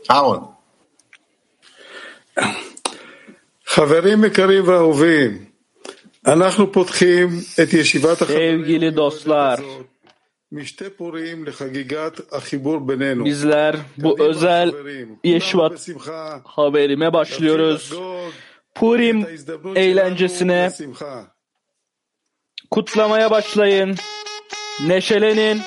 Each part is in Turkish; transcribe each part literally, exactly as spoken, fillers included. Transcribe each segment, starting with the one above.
Aaron. חברים יקרים ואהובים, אנחנו פותחים את ישיבת Sevgili dostlar, משתי פורים לחגיגת החיבור בינינו. bizler bu özel Yeşivat haberime başlıyoruz. Purim eğlencesine kutlamaya başlayın. Neşelenin.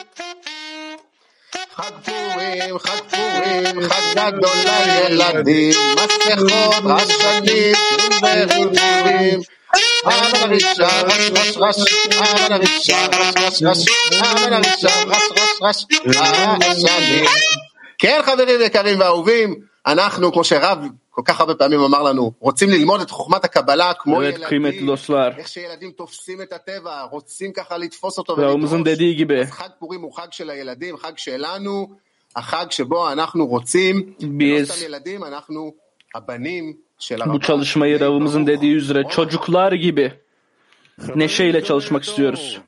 חג פורים, חג פורים, חג גדול לילדים, מסכות, רשנים, שירים וריבים. אמן הרישה, רש רש רש, אמן הרישה, רש רש רש, אמן הרישה, רש רש רש, רשנים. כן חברים יקרים ואהובים, אנחנו כמו שרב כל כך הרבה פעמים אמר לנו, רוצים ללמוד את חוכמת הקבלה כמו ילדים, איך שילדים תופסים את הטבע, רוצים ככה לתפוס אותו ולדרוש. אז חג פורים הוא חג של הילדים, חג שלנו, החג שבו אנחנו רוצים, לא סתם ילדים, אנחנו הבנים של הרב. Bu çalışmayı Ravımızın dediği üzere çocuklar gibi neşeyle çalışmak istiyoruz.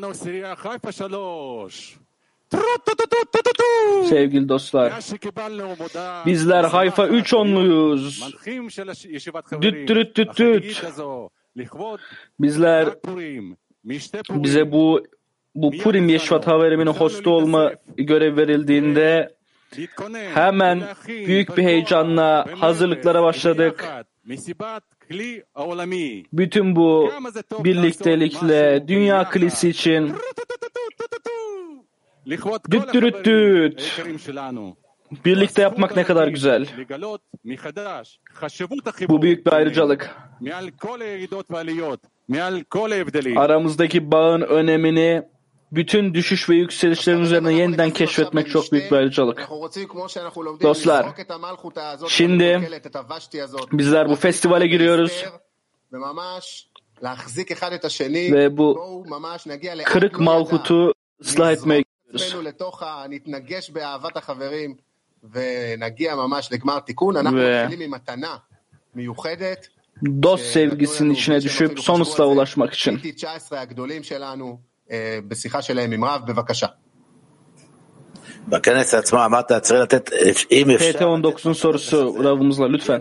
Sevgili dostlar, bizler Hayfa üç onluyuz. Düt düt düt düt. Bizler bize bu bu Purim Yeşivat haberiminin hostu olma görev verildiğinde hemen büyük bir heyecanla hazırlıklara başladık. Bütün bu birliktelikle Dünya Kilisi için düt düt düt. Birlikte yapmak ne kadar güzel. Bu büyük bir ayrıcalık. Aramızdaki bağın önemini, bütün düşüş ve yükselişlerin üzerine yeniden keşfetmek çok büyük bir ayrıcalık. Dostlar, şimdi bizler bu festivale giriyoruz ve bu kırık malhutu ıslah etmeye gidiyoruz. Ve dost sevgisinin içine düşüp son ıslaha ulaşmak için. T T on dokuzun sorusu Ravımızla lütfen.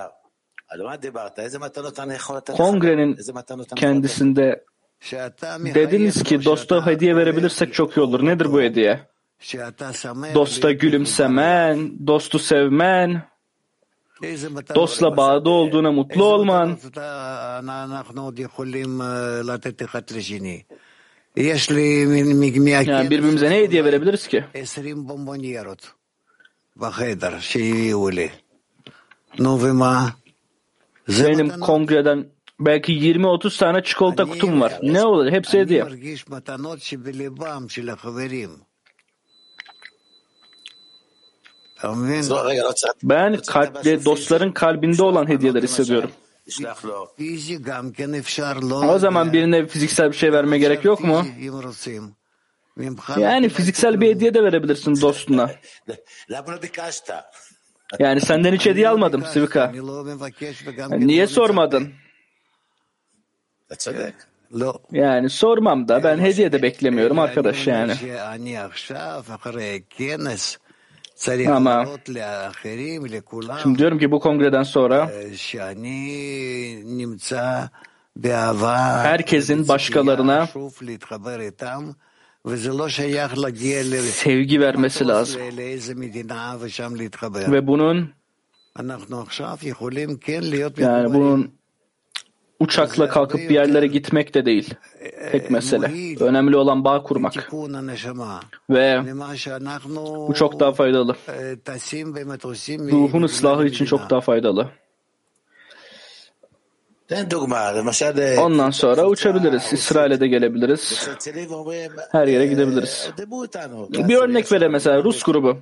Kongrenin kendisinde dediniz ki dosta hediye verebilirsek çok iyi olur. Nedir bu hediye? Dosta gülümsemen, dostu sevmen, dostla bağda olduğuna mutlu olman. Yani birbirimize ne hediye verebiliriz ki? Benim kongreden belki yirmi otuz tane çikolata kutum var. Ne olur? Hepsi hediye. Ben kalpli, dostların kalbinde olan hediyeler hissediyorum. O zaman birine fiziksel bir şey vermeye gerek yok mu? Yani fiziksel bir hediye de verebilirsin dostuna. Yani senden hiç hediye almadım Sivika. Yani niye sormadın? Yani sormam da ben hediye de beklemiyorum arkadaş yani. Ama şimdi diyorum ki bu kongreden sonra herkesin başkalarına sevgi vermesi lazım. Ve bunun yani bunun uçakla kalkıp bir yerlere gitmek de değil. Tek mesele. Önemli olan bağ kurmak. Ve bu çok daha faydalı. Ruhun ıslahı için çok daha faydalı. Ondan sonra uçabiliriz. İsrail'e de gelebiliriz. Her yere gidebiliriz. Bir örnek verelim mesela Rus grubu.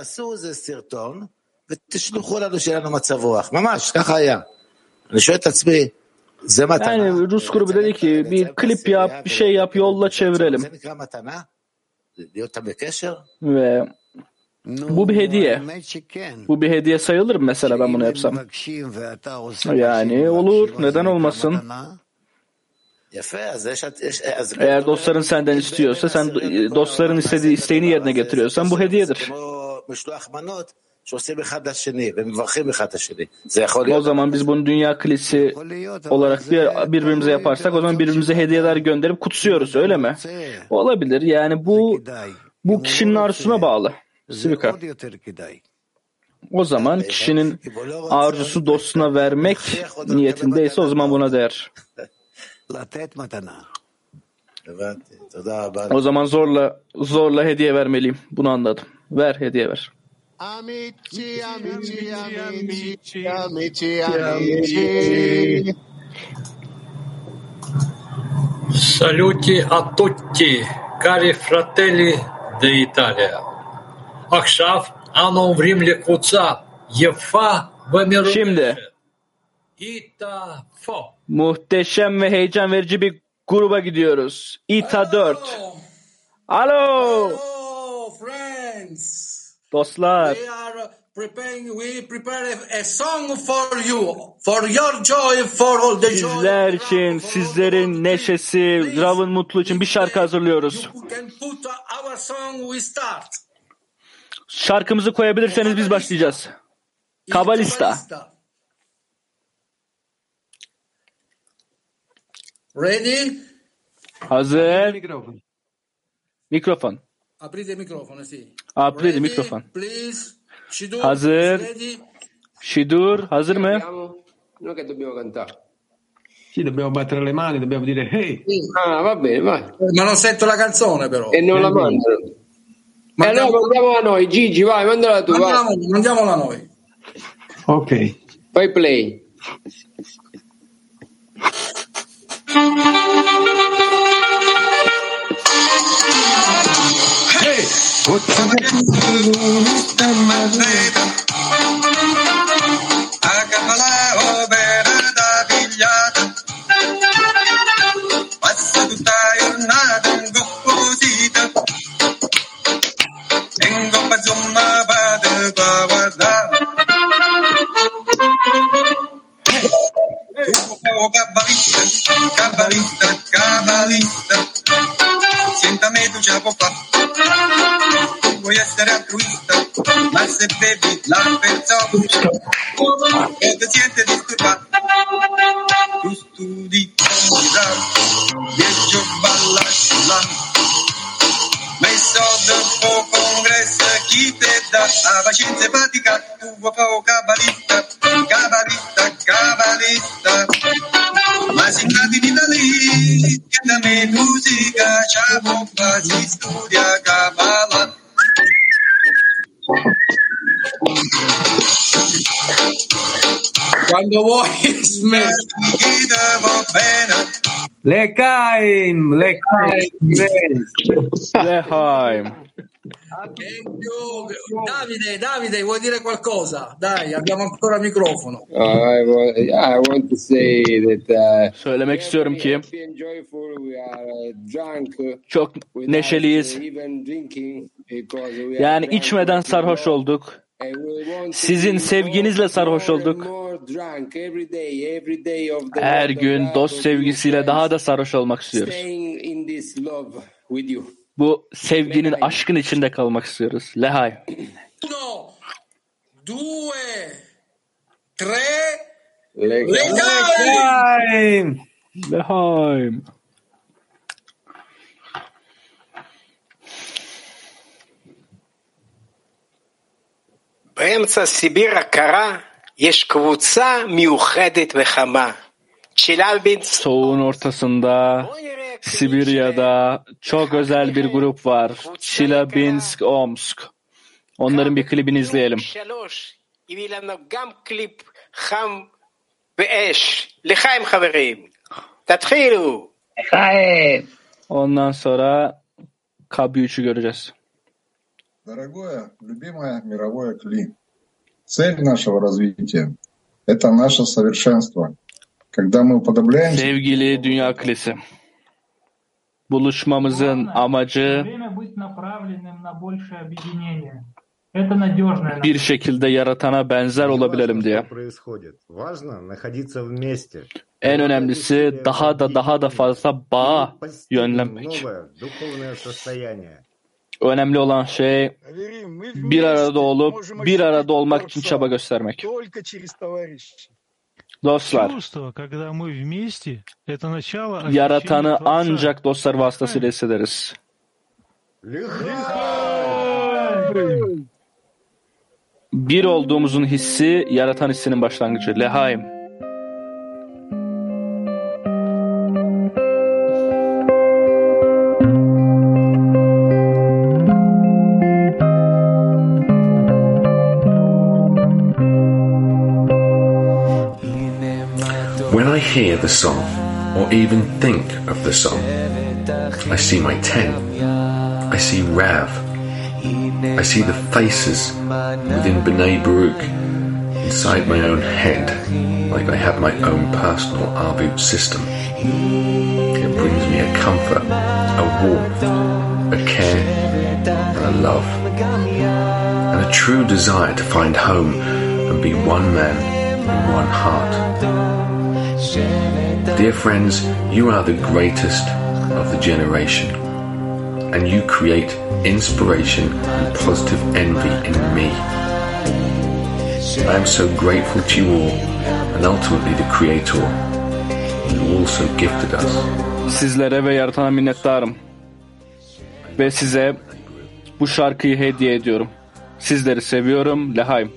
Yani Rus grubu dedi ki bir klip yap, bir şey yap, yolla çevirelim. Ve bu bir hediye. Bu bir hediye sayılır mı mesela ben bunu yapsam? Yani olur. Neden olmasın? Eğer dostların senden istiyorsa, sen dostların istediği isteğini yerine getiriyorsan bu hediyedir. O zaman biz bunu dünya kilisi olarak bir, birbirimize yaparsak o zaman birbirimize hediyeler gönderip kutsuyoruz, öyle mi? Olabilir. Yani bu bu kişinin arzusuna bağlı. Sivika. O zaman kişinin arzusu dostuna vermek niyetindeyse o zaman buna değer. O zaman zorla zorla hediye vermeliyim. Bunu anladım. Ver, hediye ver. Amici, amici, amici, amici, amici. Saluti a tutti, cari fratelli d'Italia. עכשיו אנו עוברים לקבוצה יפה ומרגשת. Şimdi İta-Fo. muhteşem ve heyecan verici bir gruba gidiyoruz. İta dört. Alo. Hello, friends. Dostlar. We are preparing, we prepare a song for you, for your joy, for all the joy. Sizler için, sizlerin neşesi, Rav'ın mutlu için bir şarkı hazırlıyoruz. You can put our song, we start. Şarkımızı koyabilirseniz biz başlayacağız. Kabalista. Ready? Hazır. Mikrofon. Aprite il microfono, sì. Aprite mikrofon. Please. Shidur, Hazır. ready? Shidur, hazır mı? Noi che dobbiamo cantare. Sì, dobbiamo battere le mani, dobbiamo dire hey. Ah, va bene, vai. Ma non sento la canzone però. E non la mandano. E allora mandiamola a noi, Gigi, vai, mandala tu. Mandiamo, mandiamola noi. Ok. Fai play. Hey! Passa tutta la giornata in composita in coppa insomma vado a guardare oh cabalista, cabalista, cabalista sientami tu ce la può fare vuoi essere altruista ma se bevi la persona e ti siente disturbato tu studi viaggio balla sulla messo dopo congresso chi te dà la pazienza e fatica tu vuoi fare cabalista cabalista cabalista ma si cade in Italia che da me musica c'ha bomba si studia cabala Quando vuoi smetti. L'Echaim, l'Echaim. Lehaim. Davide, Davide, vuoi dire qualcosa? Dai, abbiamo ancora il microfono. Uh, I, want, I want to say that uh, Söylemek istiyorum ki and joyful, we are uh, drunk çok without neşeliyiz. even drinking because we are Yani drunk içmeden with sarhoş love. olduk. And we want to Sizin be sevginizle more, sarhoş more and olduk. more drunk every day, every day of the Her month of gün love dost of sevgisiyle you daha da friends, sarhoş olmak istiyoruz. staying in this love with you. Bu sevginin, aşkın içinde kalmak istiyoruz. Lehaim. Uno, due, tre. Legaim. L'Echaim. Lehaim. באמצע סיביר הקרה יש קבוצה מיוחדת וחמה. צ'לאבינסק. Soğuğun ortasında Sibirya'da çok özel bir grup var. Chelyabinsk, Omsk. Onların bir klibini izleyelim. שלוש, הביא לנו גם קליפ חם ואש. לחיים חברים. תתחילו. Ondan sonra K B üçü göreceğiz. Дорогое, любимое мировое Кли, цель нашего развития – это наше совершенство. Когда мы уподобляемся... Sevgili Dünya Kilisi, buluşmamızın amacı bir şekilde yaratana benzer olabilelim diye. En önemlisi daha da daha da fazla bağa yönlenmek. Önemli olan şey bir arada olup bir arada olmak için çaba göstermek. Dostlar, yaratanı ancak dostlar vasıtasıyla hissederiz. Bir olduğumuzun hissi, yaratan hissinin başlangıcı. Lehaim. When I hear the song, or even think of the song, I see my tent, I see Rav, I see the faces within B'nai Baruch, inside my own head, like I have my own personal Arbut system. It brings me a comfort, a warmth, a care, and a love, and a true desire to find home and be one man in one heart. Dear friends, you are the greatest of the generation, and you create inspiration and positive envy in me. I am so grateful to you all, and ultimately the Creator, who also gifted us. Sizlere ve yaratana minnettarım. Ve size bu şarkıyı hediye ediyorum. Sizleri seviyorum. Lehaim.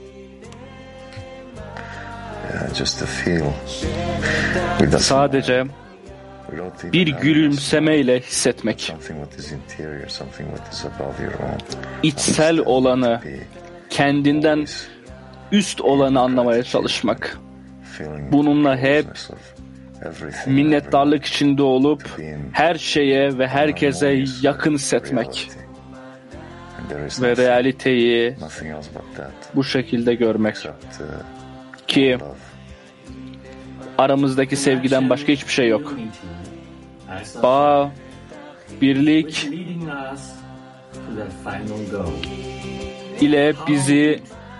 Just to feel. Sadece bir gülümsemeyle hissetmek. İçsel olanı, kendinden üst olanı anlamaya çalışmak. Bununla hep minnettarlık içinde olup her şeye ve herkese yakın hissetmek. Ve realiteyi bu şekilde görmek. Ki aramızdaki sevgiden başka hiçbir şey yok. Bağ, birlik ile bizi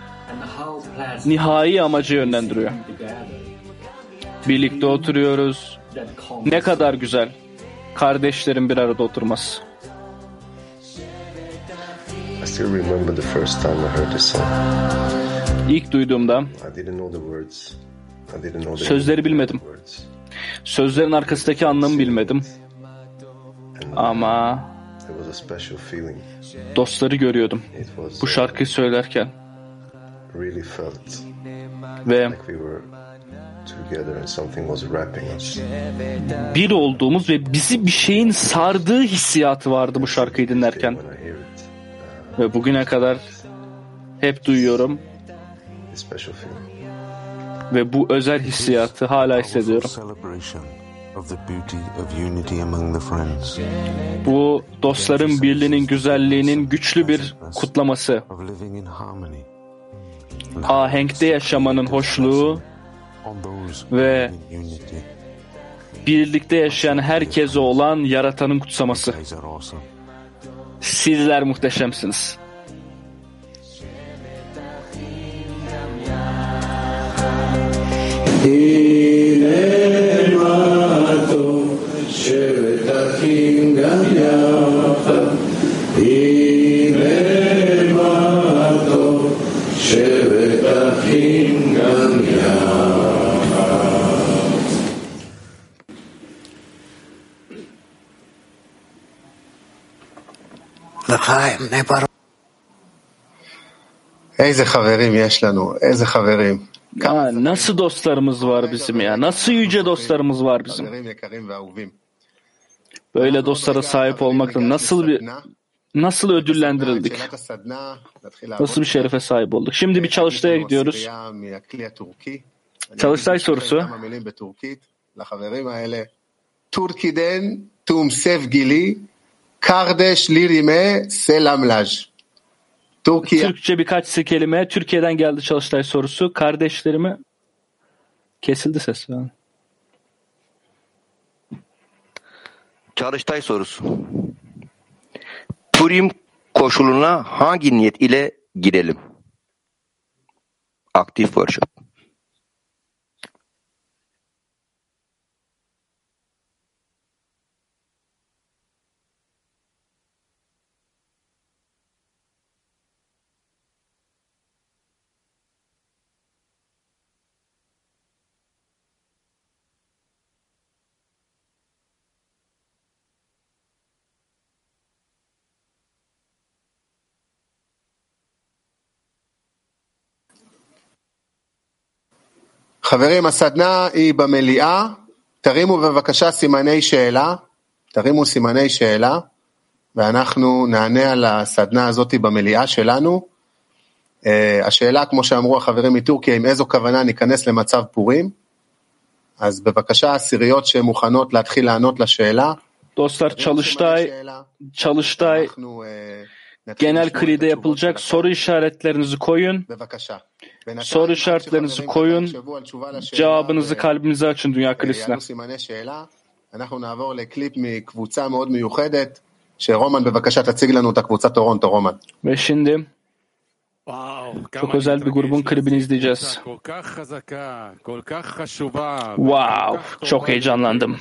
nihai amaca yönlendiriyor. Birlikte oturuyoruz. Ne kadar güzel. Kardeşlerin bir arada oturması. I still remember the first time I heard this song. İlk duyduğumda sözleri bilmedim. Sözlerin arkasındaki anlamı bilmedim. Ama dostları görüyordum bu şarkıyı söylerken. Ve bir olduğumuz ve bizi bir şeyin sardığı hissiyatı vardı bu şarkıyı dinlerken. Ve bugüne kadar hep duyuyorum. Ve bu özel hissiyatı hala hissediyorum. Bu dostların birliğinin güzelliğinin güçlü bir kutlaması. Ahenkte yaşamanın hoşluğu ve birlikte yaşayan herkese olan yaratanın kutsaması. Sizler muhteşemsiniz. איזה חברים יש לנו, איזה חברים. Ya, nasıl dostlarımız var bizim ya, nasıl yüce dostlarımız var bizim. Böyle dostlara sahip olmakla nasıl bir nasıl ödüllendirildik, nasıl bir şerefe sahip olduk. Şimdi bir çalıştaya gidiyoruz. Çalıştay sorusu. Türkiye'den tüm sevgili kardeş Lirime selamlar. Türkiye. Türkçe birkaç kelime. Türkiye'den geldi çalıştay sorusu. Kardeşlerime kesildi ses. Yani. Çalıştay sorusu. Purim koşuluna hangi niyet ile girelim? Aktif worship. חברים, הסדנה היא במליאה, תרימו בבקשה סימני שאלה, תרימו סימני שאלה, ואנחנו נענה על הסדנה הזאת במליאה שלנו. השאלה, כמו שאמרו החברים מטורקיה, עם איזו כוונה ניכנס למצב פורים, אז bevakasha asiriyot שמוכנות להתחיל לענות לשאלה. Dostlar çalıştay, çalıştay genel klide yapılacak, soru işaretlerinizi koyun. Soru işaretlerinizi koyun, cevabınızı kalbinize açın dünya kilisine. אנחנו נעבור לקליפ מקבוצה מאוד מיוחדת, שרומן בבקשה תציג לנו את הקבוצה טורונטו, רומן. Ve şimdi çok özel bir grubun klibini izleyeceğiz. Wow, çok heyecanlandım.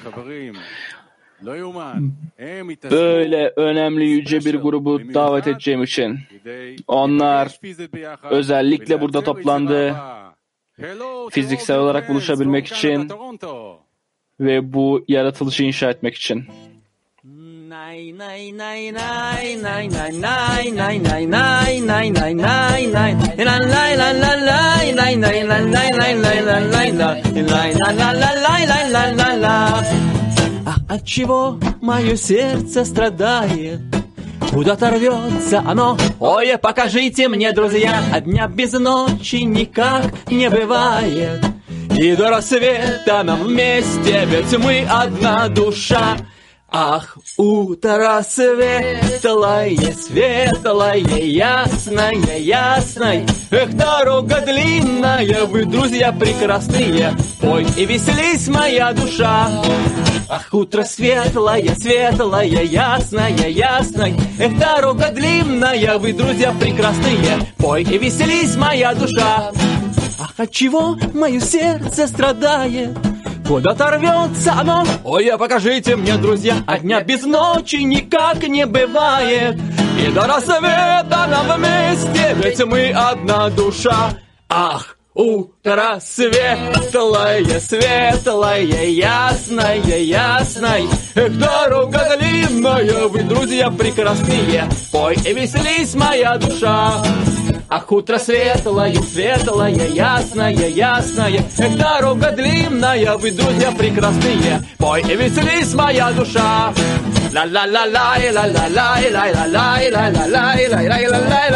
Böyle önemli yüce bir grubu davet edeceğim için. Onlar özellikle burada toplandı. Fiziksel olarak buluşabilmek için ve bu yaratılışı inşa etmek için. Nay nay nay nay nay nay nay nay nay nay nay nay nay nay lay lay lay lay lay lay lay lay lay lay lay lay lay lay lay lay lay. А от чего мое сердце страдает? Куда-то рвется оно. Ой, покажите мне, друзья, а дня без ночи никак не бывает. И до рассвета нам вместе, ведь мы одна душа. Ах, утро светлое, светлое, ясное, ясное. Эх, дорога длинная, вы, друзья прекрасные. Пой и веселись, моя душа. Ах, утро светлое, светлое, ясное, ясное. Эх, дорога длинная, вы, друзья прекрасные. Пой и веселись, моя душа. Ах, от чего мое сердце страдает? Куда-то рвется оно. Ой, а покажите мне, друзья, а дня без ночи никак не бывает. И до рассвета нам вместе, ведь мы одна душа. Ах, утро светлое, светлое, ясное, ясное. Эх, дорога длинная, вы, друзья прекрасные. Пой и веселись, моя душа. Ах, утро светлое, светлое, ясное, ясное. Эх, дорога длинная, вы, друзья прекрасные. Пой и веселись, моя душа. La la la la la la la la la la la la la la la la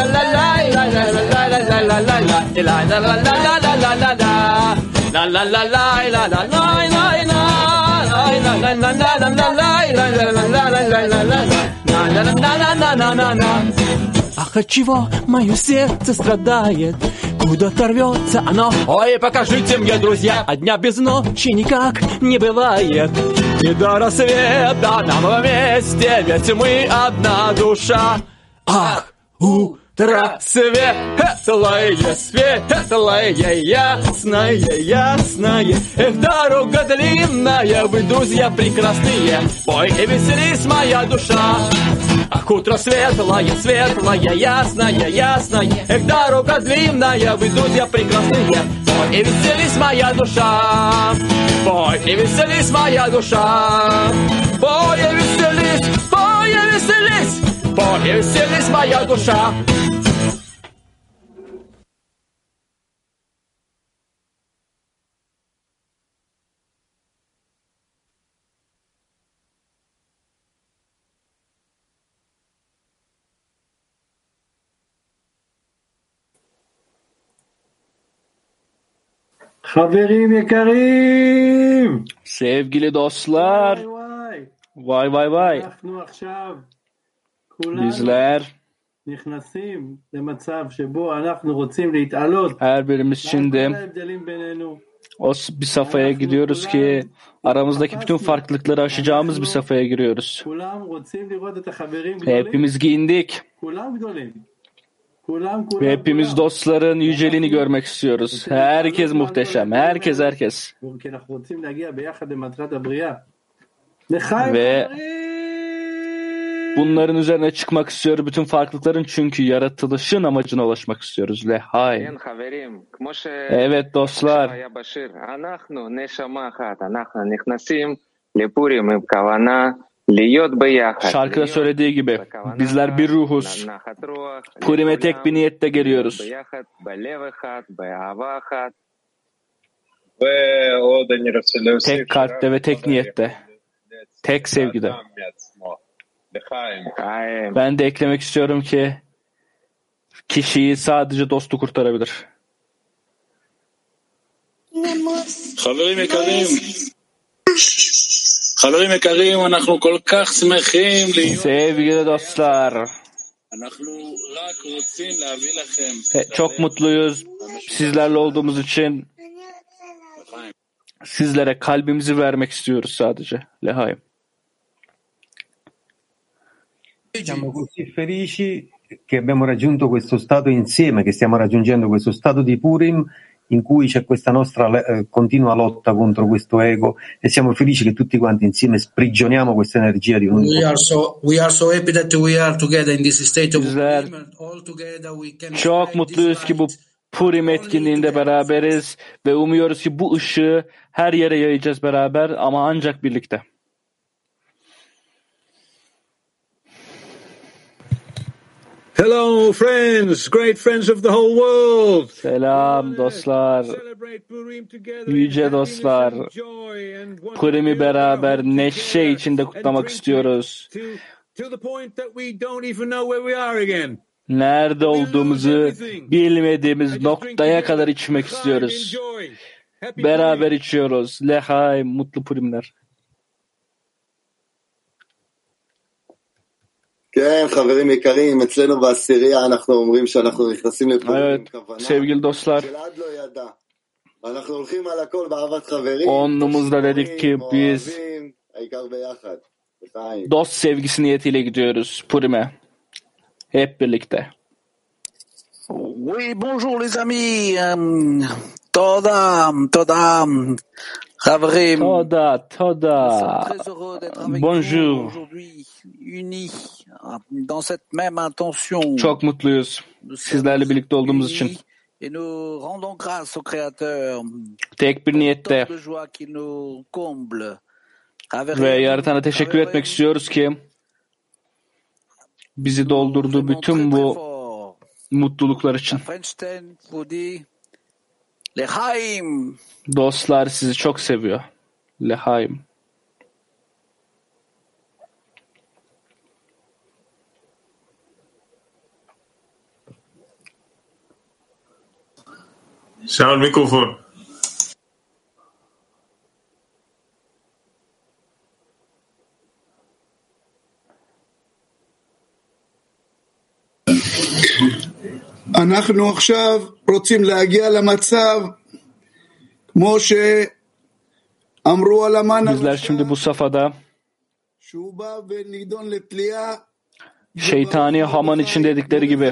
la la la. Ах, от чего мое сердце страдает? Куда-то рвется оно. Ой, покажите мне, друзья, а дня без ночи никак не бывает. И до рассвета нам вместе, ведь мы одна душа. Ах, утро светлое, светлое, ясное, ясное. Эх, дорога длинная, вы, друзья прекрасные. Пой и веселись, моя душа. Ах, утро светлое, светлое, ясное, ясное. Эх, дорога длинная, вы, друзья прекрасные. Пой и веселись, моя душа. Пой и веселись, моя душа. Пой и веселись, пой и веселись. Пой и веселись, моя душа. חברים יקרים! Sevgili dostlar, vay vay vay. אנחנו עכשיו Bizler נכנסים למצב שבו אנחנו רוצים להתעלות. her birimiz şimdi o bir safhaya gidiyoruz ki aramızdaki bütün farklılıkları aşacağımız bir safhaya giriyoruz. Hepimiz giyindik. Ve hepimiz dostların yüceliğini görmek istiyoruz. Herkes muhteşem. Herkes herkes. Ve bunların üzerine çıkmak istiyoruz. Bütün farklılıkların, çünkü yaratılışın amacına ulaşmak istiyoruz. Lehay. Evet dostlar. Şarkıda söylediği gibi bizler bir ruhuz. Purim'e tek bir niyette geliyoruz. Tek kalpte ve tek niyette. Tek sevgide. Ben de eklemek istiyorum ki kişiyi sadece dostu kurtarabilir. חברים יקרים, חברים יקרים, אנחנו כל כך שמחים להיות... Sevgili dostlar, אנחנו רק רוצים להביא לכם... çok mutluyuz sizlerle olduğumuz için. Sizlere kalbimizi vermek istiyoruz sadece. Lehaim. Siamo così felici che abbiamo raggiunto questo stato insieme, che stiamo raggiungendo questo stato di Purim in cui c'è questa nostra eh, continua lotta contro questo ego e siamo felici che tutti quanti insieme sprigioniamo questa energia di unità. We are so we are so happy that we are together in this state of Purim and all together we can çok mutluyuz ki bu Purim etkinliğinde beraberiz ve umuyoruz ki bu ışığı her yere yayacağız beraber ama ancak birlikte. Hello friends, great friends of the whole world. Selam dostlar, yüce dostlar. Purim'i beraber neşe içinde kutlamak istiyoruz. Nerede olduğumuzu bilmediğimiz noktaya kadar içmek istiyoruz. Beraber içiyoruz. Lehaim, mutlu Purimler. כן, חברים יקרים, אצלנו בעשירייה אנחנו אומרים שאנחנו נכנסים לפורים עם כוונה שלעד לא ידע. אנחנו הולכים על הכל באהבת חברים, אוהבים, העיקר ביחד. Dost sevgisi niyetiyle gidiyoruz Purim'e. Hep birlikte. Oui, bonjour les amis. Toda, toda. Khavrim. Toda, toda. Bonjour. Unis dans cette même intention. Çok mutluyuz sizlerle birlikte olduğumuz için. Et nous rendons grâce au Créateur. Tek bir niyette. Ve Yaratan'a teşekkür etmek istiyoruz ki bizi doldurduğu bütün bu mutluluklar için. Dostlar sizi çok seviyor. Lehaim. שאול מיקרופון. אנחנו עכשיו רוצים להגיע למצב כמו שאמרו על המן Bizler şimdi bu safhada שהוא בא ונידון לתלייה şeytani Haman için dedikleri gibi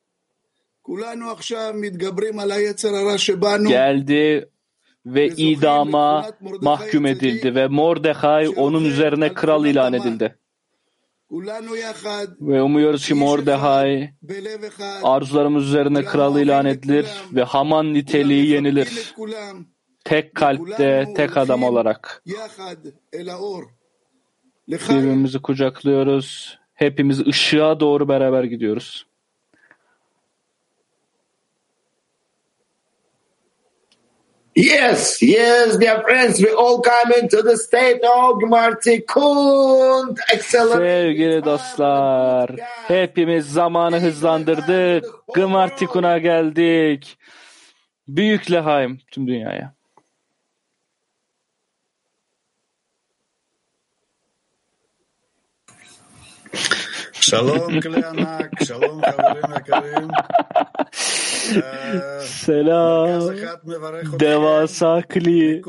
geldi ve idama mahkum edildi ve Mordechai onun üzerine kral ilan edildi. Ve umuyoruz ki Mordechai arzularımız üzerine kral ilan edilir ve Haman niteliği yenilir. Tek kalpte, tek adam olarak. Birbirimizi kucaklıyoruz. Hepimiz ışığa doğru beraber gidiyoruz. Yes, yes, dear friends, we all come into the state of Gmartikun. Sevgili dostlar, hepimiz zamanı hızlandırdık. Gmartikun'a geldik. Büyük Lehaim tüm dünyaya. Shalom kli anak, shalom חברים יקרים. Selam. Devasa kli.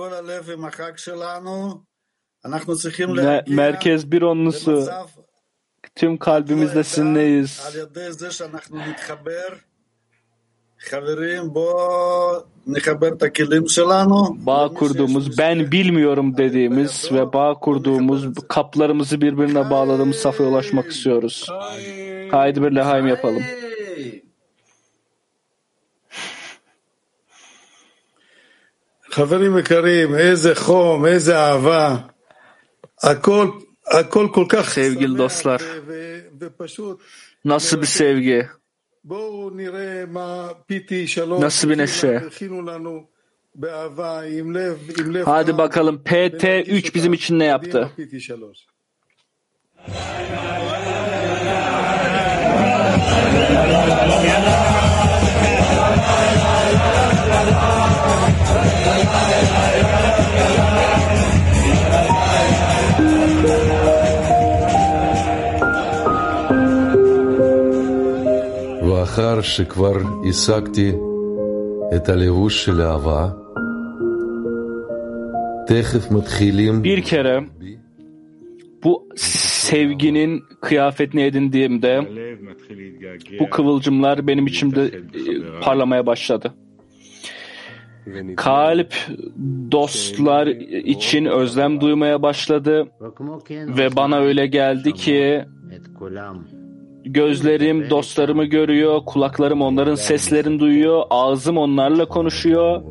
Merkez bir onlusu. Tüm kalbimizle sizinleyiz. Bağ kurduğumuz, ben bilmiyorum dediğimiz ve bağ kurduğumuz, kaplarımızı birbirine bağladığımız safhaya ulaşmak istiyoruz. Haydi bir lehaim yapalım. חברים יקרים, איזה חום, איזה אהבה. הכל, הכל כל כך sevgili dostlar. Nasıl bir sevgi. Nasıl bir neşe. Hadi bakalım P T üç bizim için ne yaptı? ואחר שכבר השגתי את הלבוש של אהבה, תכף מתחילים. Bir kere bu sevginin kıyafetini edindiğimde bu kıvılcımlar benim içimde parlamaya başladı. Kalp dostlar için özlem duymaya başladı ve bana öyle geldi ki gözlerim dostlarımı görüyor, kulaklarım onların seslerini duyuyor, ağzım onlarla konuşuyor.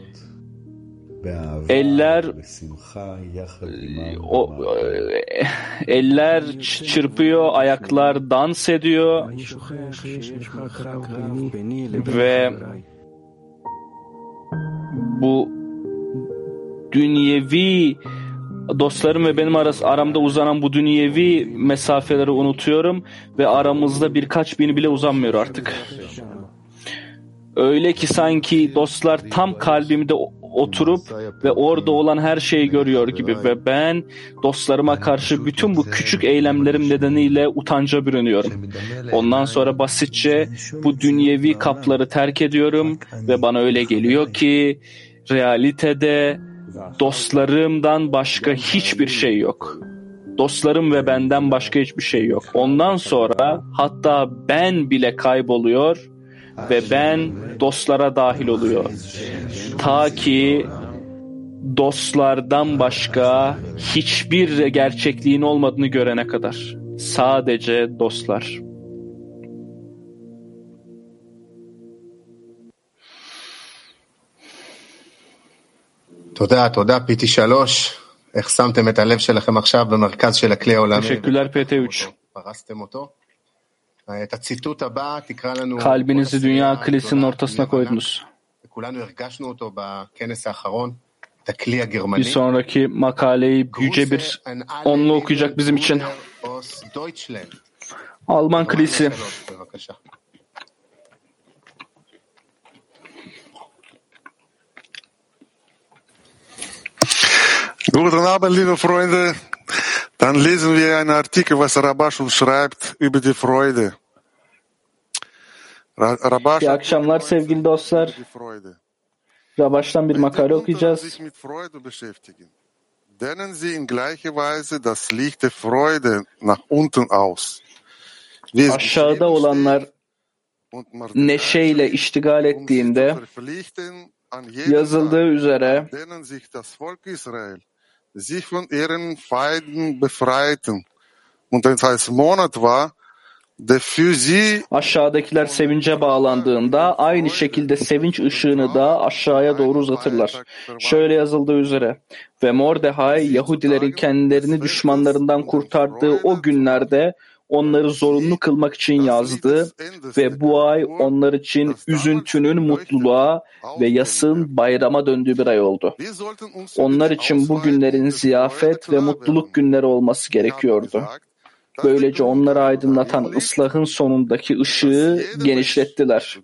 Eller o, eller çırpıyor, ayaklar dans ediyor ve bu dünyevi dostlarım ve benim arası, aramda uzanan bu dünyevi mesafeleri unutuyorum ve aramızda birkaç bin bile uzanmıyor artık. Öyle ki sanki dostlar tam kalbimde oturup ve orada olan her şeyi görüyor gibi ve ben dostlarıma karşı bütün bu küçük eylemlerim nedeniyle utanca bürünüyorum. Ondan sonra basitçe bu dünyevi kapları terk ediyorum ve bana öyle geliyor ki realitede dostlarımdan başka hiçbir şey yok. Dostlarım ve benden başka hiçbir şey yok. Ondan sonra hatta ben bile kayboluyor ve ben dostlara dahil oluyor. Ta ki dostlardan başka hiçbir gerçekliğin olmadığını görene kadar. Sadece dostlar. תודה, תודה, פי טי שלוש. איך שמתם את הלב שלכם עכשיו במרכז של הכלי העולמי. Teşekkürler P T üç. פרסתם אותו. את הציטוט הבא תקרא לנו... Kalbinizi dünya kilisinin ortasına koydunuz. כולנו הרגשנו אותו בכנס האחרון. את הכלי הגרמני. Bir sonraki makaleyi yüce bir onlu okuyacak bizim için. Alman kilisi. Guten Abend, liebe Freunde. Dann lesen wir einen Artikel, was Rabash uns schreibt über die Freude. Rabash, İyi akşamlar sevgili dostlar. Rabaş'tan bir makale okuyacağız. Dehnen Sie in gleicher Weise das Licht der Freude nach unten aus. Aşağıda olanlar neşeyle iştigal ettiğinde yazıldığı üzere sich von ihren Feinden befreiten. Und als Monat war, der für sie aşağıdakiler sevince bağlandığında aynı şekilde sevinç ışığını da aşağıya doğru uzatırlar. Şöyle yazıldığı üzere ve Mordecai Yahudilerin kendilerini düşmanlarından kurtardığı o günlerde onları zorunlu kılmak için yazdı ve bu ay onlar için üzüntünün mutluluğa ve yasın bayrama döndüğü bir ay oldu. Onlar için bu günlerin ziyafet ve mutluluk günleri olması gerekiyordu. Böylece onları aydınlatan ıslahın sonundaki ışığı genişlettiler.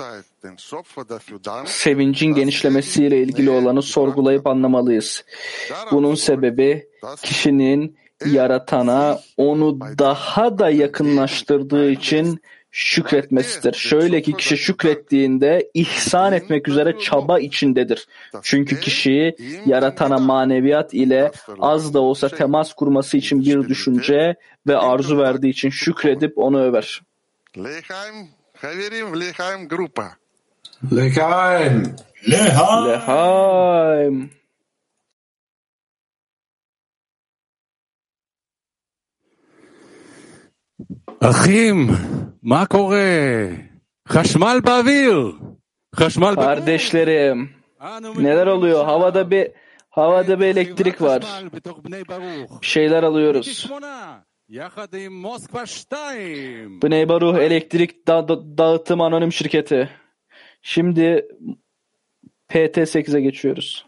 Sevincin genişlemesiyle ilgili olanı sorgulayıp anlamalıyız. Bunun sebebi kişinin yaratana onu daha da yakınlaştırdığı için şükretmesidir. Şöyle ki kişi şükrettiğinde ihsan etmek üzere çaba içindedir. Çünkü kişi yaratana maneviyat ile az da olsa temas kurması için bir düşünce ve arzu verdiği için şükredip onu över. Lechaim, haverim, lechaim grupa. Lechaim. Lechaim. אחים, מה קורה? חשמל באוויר. חשמל באוויר. Kardeşlerim, neler oluyor? Havada bir havada bir elektrik var. Bir şeyler alıyoruz. Bnei Baruch elektrik da- da- dağıtım anonim şirketi. Şimdi P T sekize geçiyoruz.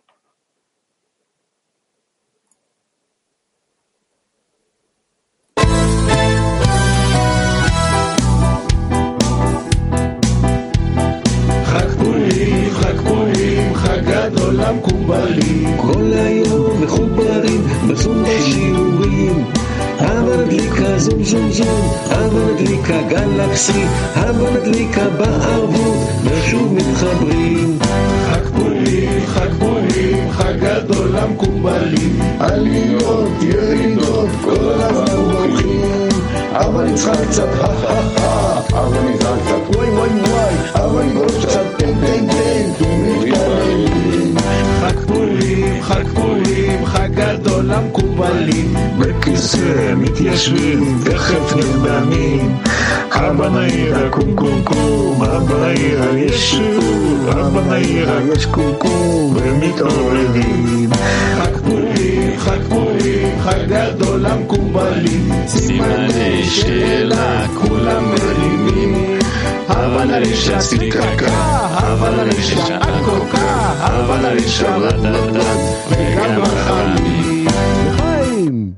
גדול המקובלים כל היום מחוברים בזום בשיעורים הבה נדליקה זום זום זום הבה נדליקה גלקסי הבה נדליקה בערבות ושוב מתחברים חג פורים חג פורים חג גדול המקובלים עליות ירידות כל הזמן הולכים אבל נצחק קצת אבל נצחק קצת וואי וואי וואי אבל נצחק קצת טן טן טן ומתקרבים חג פורים חג פורים חג גדול המקובלים בכיסא מתיישבים תכף נרדמים אבא נעירה קום קום קום אבא נעירה יש שוב אבא נעירה יש קום קום ומתעוררים חג פורים חג פורים חג גדול המקובלים סימני שאלה כולם מרימים הבה נרישה סליקקה הבה נרישה אקוקה הבה נרישה רדדד וגם החיים לחיים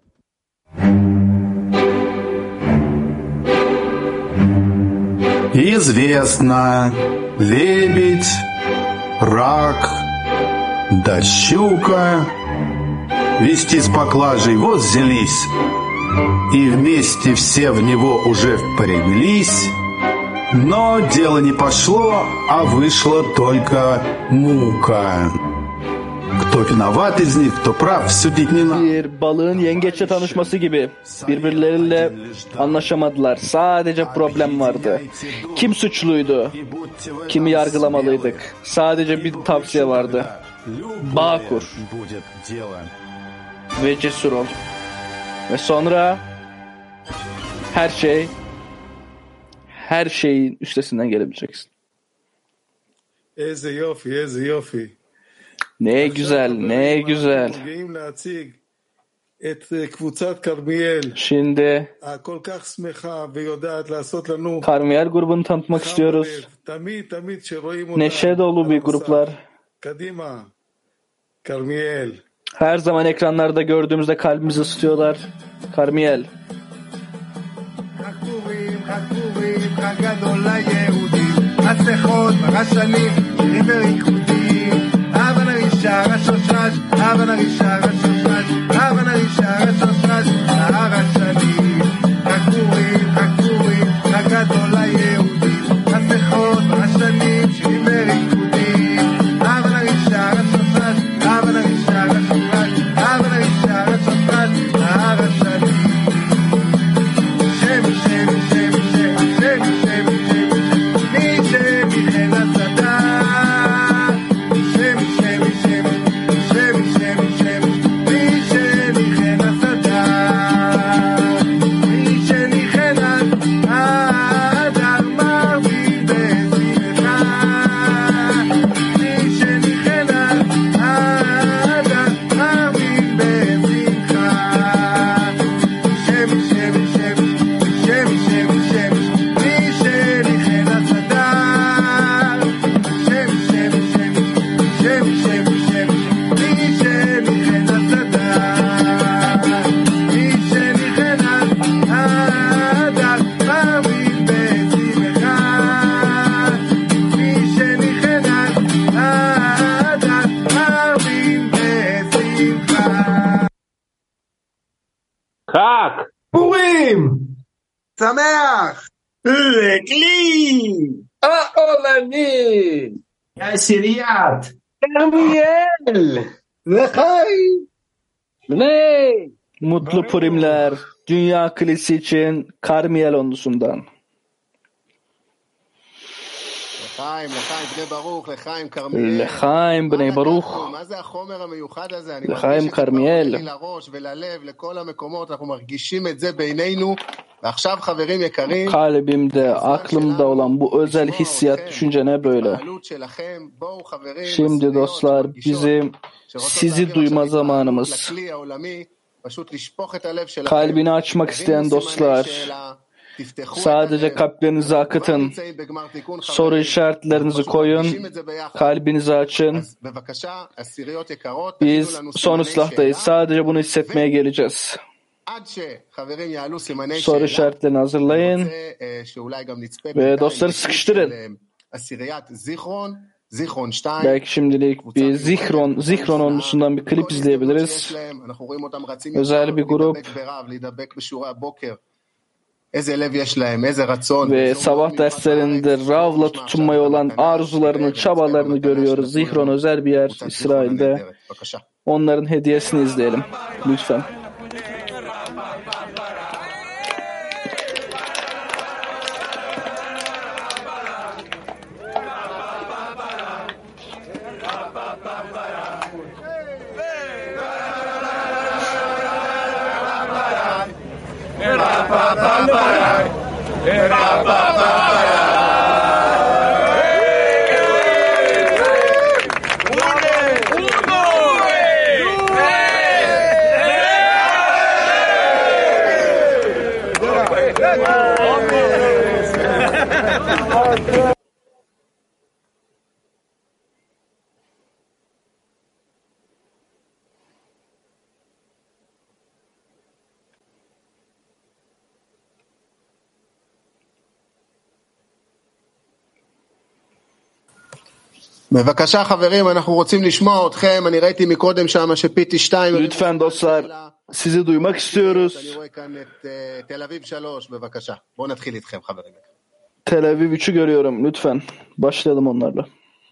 Известно, лебедь, рак, да щука вести с поклажей вот взялись, и вместе все в него уже впряглись, но дело не пошло, а вышла только мука. Кто vinavat из них, кто praf, sütük не надо. Bir balığın yengeçle tanışması gibi birbirleriyle anlaşamadılar. Sadece problem vardı. Kim suçluydu? Kimi yargılamalıydık? Sadece bir tavsiye vardı. Bağ kur. Ve cesur ol. Ve sonra her şey her şeyin üstesinden gelebileceksin. Eze yofi, eze yofi. Ne güzel, ne güzel. Şimdi Karmiyel grubunu tanıtmak istiyoruz. Neşe dolu bir gruplar. Her zaman ekranlarda gördüğümüzde kalbimizi ısıtıyorlar. Karmiyel. הבה נרישה רשוש רש, הבה נרישה רשוש רש, הבה נרישה רשוש רש, נהר השנים, חג פורים, חג פורים, חג גדול ליהודים, מסכות השנים, שירים וריקודים, הבה נרישה רשוש רש, הבה נרישה רשוש רש, הבה נרישה רשוש רש, נהר השנים, שם שם שם שם שם שם שם מי שמיכן הצדה חג פורים שמח לכלי העולמי עשיריית כרמיאל לחיים Ney? Mutlu Purimler Dünya Kilisi için Karmiyel onlusundan. לחיים בני ברוך, לחיים כרמיאל. Kalbimde, aklımda olan bu özel hissiyat, düşünce ne böyle? Şimdi dostlar, bizim sizi duyma zamanımız. Kalbini açmak isteyen dostlar, Sadece kalplerinizi akıtın. Soru işaretlerinizi koyun. Kalbinizi açın. Biz son ıslahtayız. Sadece bunu hissetmeye geleceğiz. Soru işaretlerini hazırlayın. Ve dostları sıkıştırın. Belki şimdilik bir Zihron, Zihron onlusundan bir klip izleyebiliriz. Özel bir grup. Ve sabah derslerinde Rav'la tutunmaya olan arzularını, çabalarını görüyoruz. Zihron özel bir yer İsrail'de. Onların hediyesini izleyelim. Lütfen. בבקשה חברים, אנחנו רוצים לשמוע אתכם. אני ראיתי מקודם שם שפיטי שתיים. Lütfen dostlar, sizi duymak istiyoruz. אני רואה כאן את תל אביב שלוש, בבקשה. בואו נתחיל איתכם חברים. Tel Aviv üçü görüyorum. Lütfen başlayalım onlarla.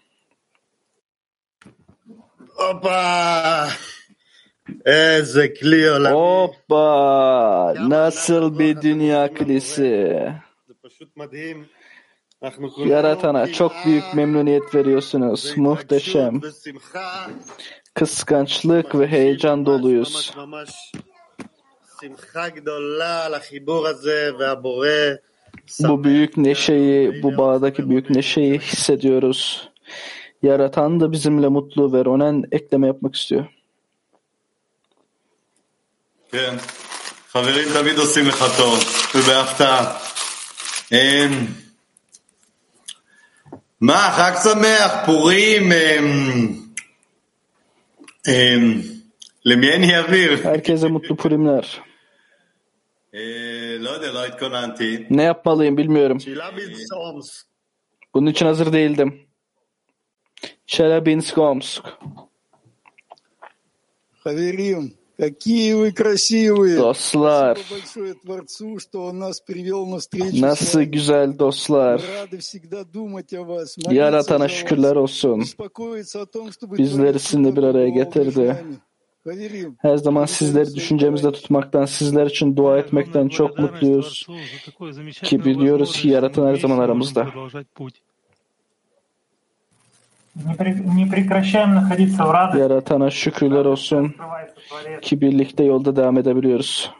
Hoppa! Eze kli olami. Hoppa! Nasıl bir dünya klisi. Yaratana çok büyük memnuniyet veriyorsunuz. Muhteşem. Kıskançlık ve heyecan doluyuz. Bu büyük neşeyi, bu bağdaki büyük neşeyi hissediyoruz. Yaratan da bizimle mutlu ve Ronen ekleme yapmak istiyor. כן, חברים תמיד עושים לך טוב, ובהפתעה. מה, חג שמח, פורים, למי אני אעביר? Herkese mutlu Purimler. לא יודע, לא התכוננתי. Ne yapmalıyım bilmiyorum. Bunun için hazır değildim. Челябинск, Омск. Хаверим, какие вы красивые! Dostlar, Спасибо большое Творцу, что он нас привел на встречу. nasıl güzel dostlar. Rады всегда думать о вас. Yaratana şükürler olsun. Bizleri sizinle bir araya getirdi. Her zaman sizleri düşüncemizde tutmaktan, sizler için dua etmekten çok mutluyuz. Ki biliyoruz ki Yaratan her zaman aramızda. Yaratana şükürler olsun ki birlikte yolda devam edebiliyoruz.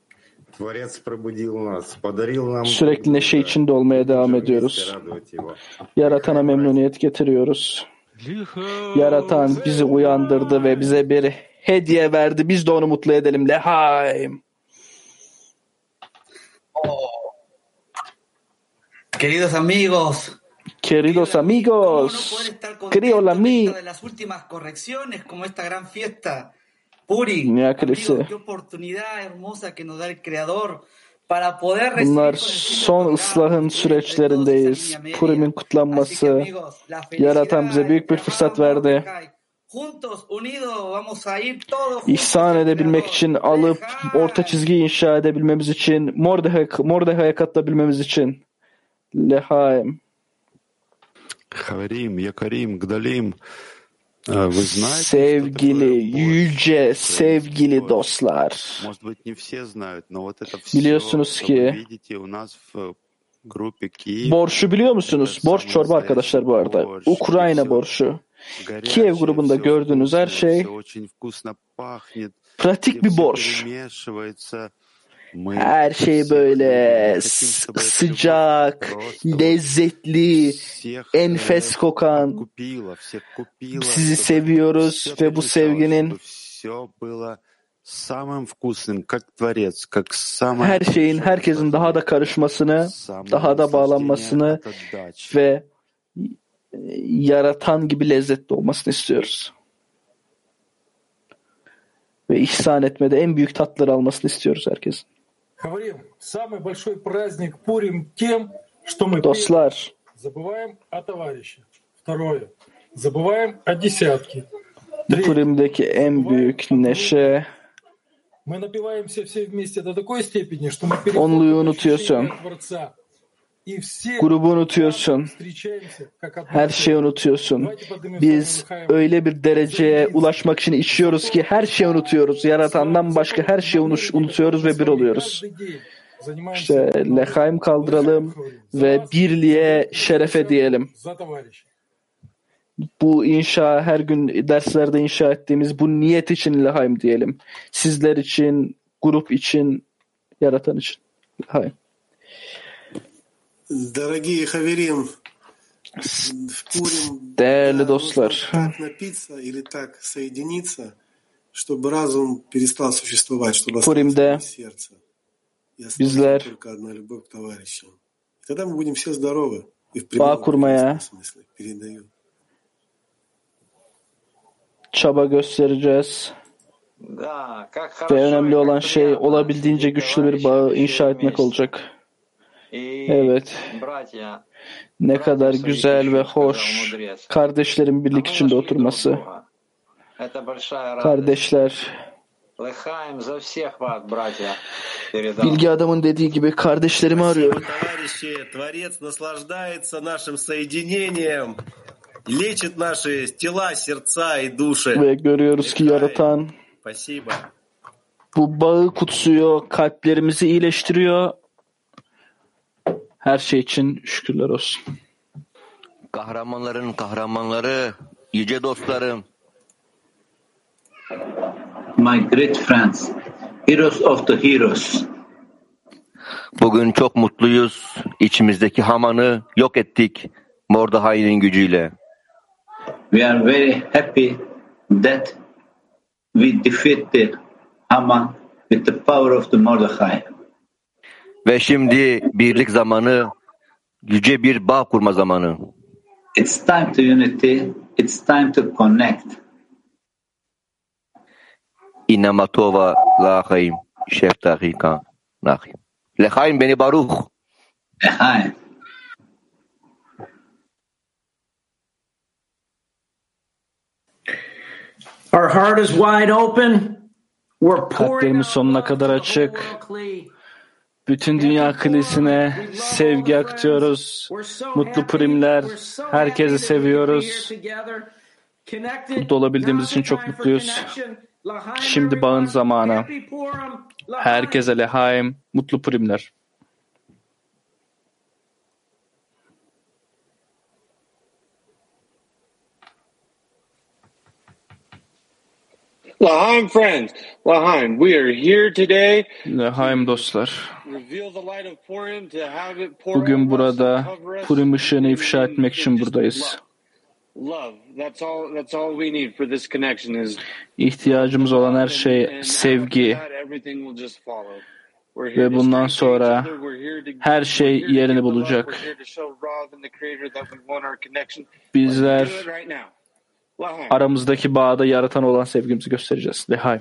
Sürekli neşe içinde olmaya devam ediyoruz. Yaratana memnuniyet getiriyoruz. Yaratan bizi uyandırdı ve bize bir hediye verdi. Biz de onu mutlu edelim. Lehaim. Queridos amigos. Queridos amigos, querido la mi. De las últimas correcciones, como esta gran fiesta, Puri, amigo, qué oportunidad hermosa que nos da el Creador para poder recibir. Bunlar son ıslahın süreçlerindeyiz. Purim'in kutlanması, Yaratan bize büyük bir fırsat verdi. İhsan edebilmek için, alıp orta çizgi inşa edebilmemiz için, Mordechai'ye katılabilmemiz için. Lehaim. Sevgili, yüce, sevgili dostlar. Biliyorsunuz ki borşu biliyor musunuz? Borç çorba arkadaşlar bu arada. Ukrayna borşu. Kiev grubunda gördüğünüz her şey pratik bir borç. Her şey böyle sıcak, lezzetli, enfes kokan. Sizi seviyoruz ve bu sevginin her şeyin herkesin daha da karışmasını, daha da bağlanmasını ve yaratan gibi lezzetli olmasını istiyoruz. Ve ihsan etmede en büyük tatları almasını istiyoruz herkesin. Dostlar, bu Purim'deki en büyük neşe, onluğu unutuyorsun, grubu unutuyorsun, her şeyi unutuyorsun. Biz öyle bir dereceye ulaşmak için içiyoruz ki her şeyi unutuyoruz. Yaratandan başka her şeyi unutuyoruz ve bir oluyoruz. İşte lehaim kaldıralım ve birliğe şerefe diyelim. Bu inşa, her gün derslerde inşa ettiğimiz bu niyet için lehaim diyelim. Sizler için, grup için, yaratan için lehaim. Değerli dostlar, Purim'de bizler bağ kurmaya çaba göstereceğiz. Ve önemli olan şey olabildiğince güçlü bir bağı inşa etmek olacak. Evet. Ne kadar güzel ve hoş kardeşlerin birlik içinde oturması. Kardeşler, bilgi adamın dediği gibi kardeşlerimi arıyorum. Ve görüyoruz ki yaratan bu bağı kutsuyor, kalplerimizi iyileştiriyor. Her şey için şükürler olsun. Kahramanların kahramanları, yüce dostlarım. My great friends, heroes of the heroes. Bugün çok mutluyuz. İçimizdeki Haman'ı yok ettik Mordechai'nin gücüyle. We are very happy that we defeated Haman with the power of the Mordechai. Ve şimdi birlik zamanı, yüce bir bağ kurma zamanı. It's time to unity, it's time to connect. İnamatova lahaim şeftahika nahim. Lehaim beni baruch. Lehaim. Our heart is wide open. We're Kalplerimiz sonuna kadar açık. Bütün dünya kilisine sevgi akıtıyoruz. Mutlu Purimler. Herkesi seviyoruz. Burada olabildiğimiz için çok mutluyuz. Şimdi bağın zamanı. Herkese lehaim, mutlu Purimler. L'chaim friends, L'chaim, we are here today. L'chaim dostlar. Bugün burada Purim ışığını ifşa etmek için buradayız. İhtiyacımız olan her şey sevgi. Ve bundan sonra her şey yerini bulacak. Bizler aramızdaki bağda yaratan olan sevgimizi göstereceğiz. Lehaim.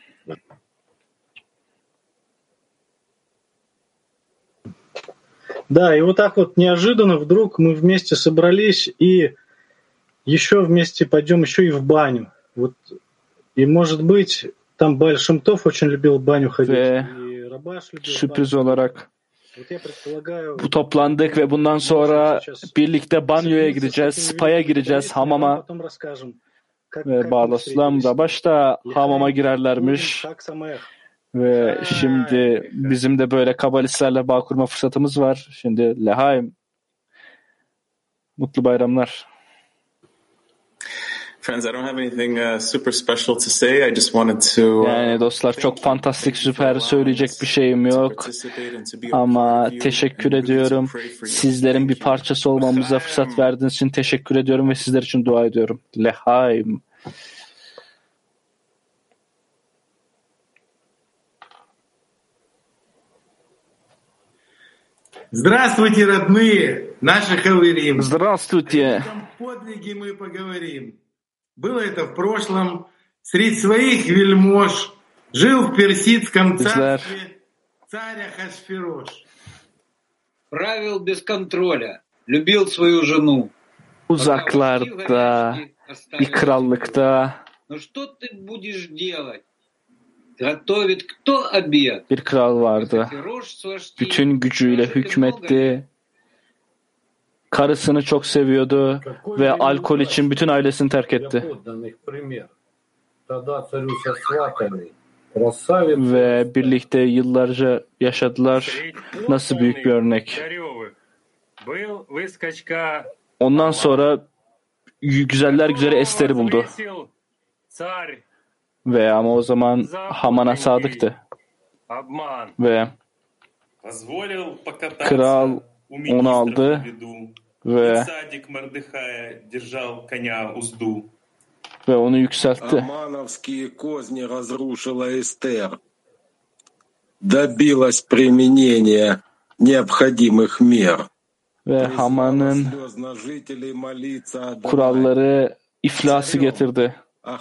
Да, и вот так вот неожиданно вдруг мы вместе собрались и еще вместе пойдем еще и в баню. Вот, и может быть, там Бааль Шем Тов очень любил в баню ходить. Ve sürpriz olarak bu toplandık ve bundan sonra birlikte banyoya gideceğiz, spa'ya gireceğiz, hamama. Ve Bağlaslam da başta hamama girerlermiş. Ve şimdi bizim de böyle kabalistlerle bağ kurma fırsatımız var. Şimdi lehaim. Mutlu bayramlar. Friends, I don't have anything uh, super special to say. I just wanted to. Yani dostlar çok fantastik, süper söyleyecek bir şeyim yok. Ama teşekkür ediyorum. Sizlerin bir parçası olmamıza fırsat verdiğiniz için teşekkür ediyorum ve sizler için dua ediyorum. Lehaim. Здравствуйте, родные, наши хаверим. Здравствуйте. Подвиги мы поговорим. Было это в прошлом. Среди своих вельмож жил в персидском царстве царь Ахашверош. Правил без контроля, любил свою жену. Uzaklarda, bir krallıkta bir kral vardı. Bütün gücüyle hükmetti. Karısını çok seviyordu ve alkol için bütün ailesini terk etti. Ve birlikte yıllarca yaşadılar. Nasıl büyük bir örnek. Ondan sonra güzeller güzeli Ester'i buldu. Ve ama o zaman Haman'a sadıktı. Ve kral onu aldı ve ve onu yükseltti. Добилась применения необходимых мер. Ve Haman'ın kuralları iflası getirdi.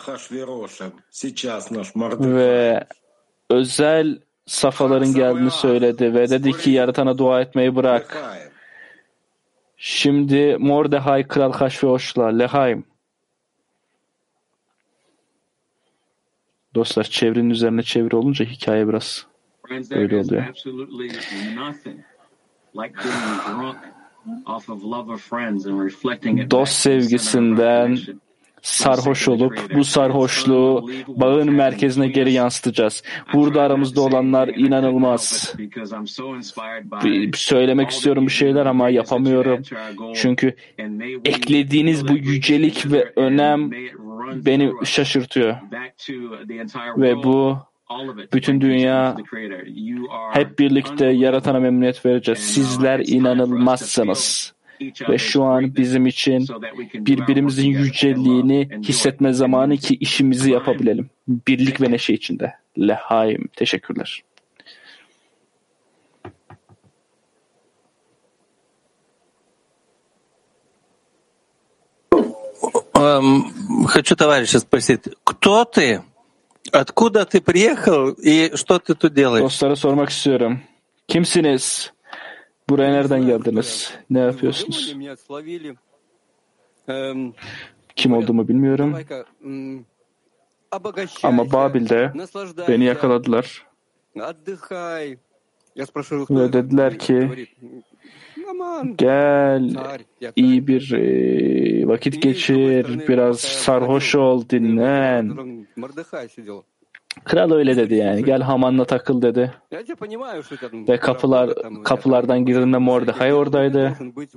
Ve özel safhaların geldiğini söyledi ve dedi ki yaratana dua etmeyi bırak. Şimdi Mordechai Kral Ahasveroş'la Lehaim. Dostlar çevrenin üzerine çeviri olunca hikaye biraz öyle oluyor. Dost sevgisinden sarhoş olup bu sarhoşluğu bağın merkezine geri yansıtacağız. Burada aramızda olanlar inanılmaz. Bir, söylemek istiyorum bir şeyler ama yapamıyorum. Çünkü eklediğiniz bu yücelik ve önem beni şaşırtıyor. Ve bu bütün dünya hep birlikte yaratana memnuniyet vereceğiz. Sizler inanılmazsınız. Ve şu an bizim için birbirimizin yüceliğini hissetme zamanı ki işimizi yapabilelim. Birlik ve neşe içinde. Lehaim. Teşekkürler. Хочу товарища спросить, кто ты? Откуда ты приехал и что ты тут делаешь? Dostlara sormak istiyorum. Kimsiniz? Buraya nereden geldiniz? Ne yapıyorsunuz? Kim olduğumu bilmiyorum. Ama Babil'de beni yakaladılar. Ve dediler ki gel iyi bir vakit geçir, biraz sarhoş ol, dinlen. Kral öyle dedi yani. Gel Haman'la takıl dedi. Ve kapılar kapılardan girdiğinde Mordechai oradaydı.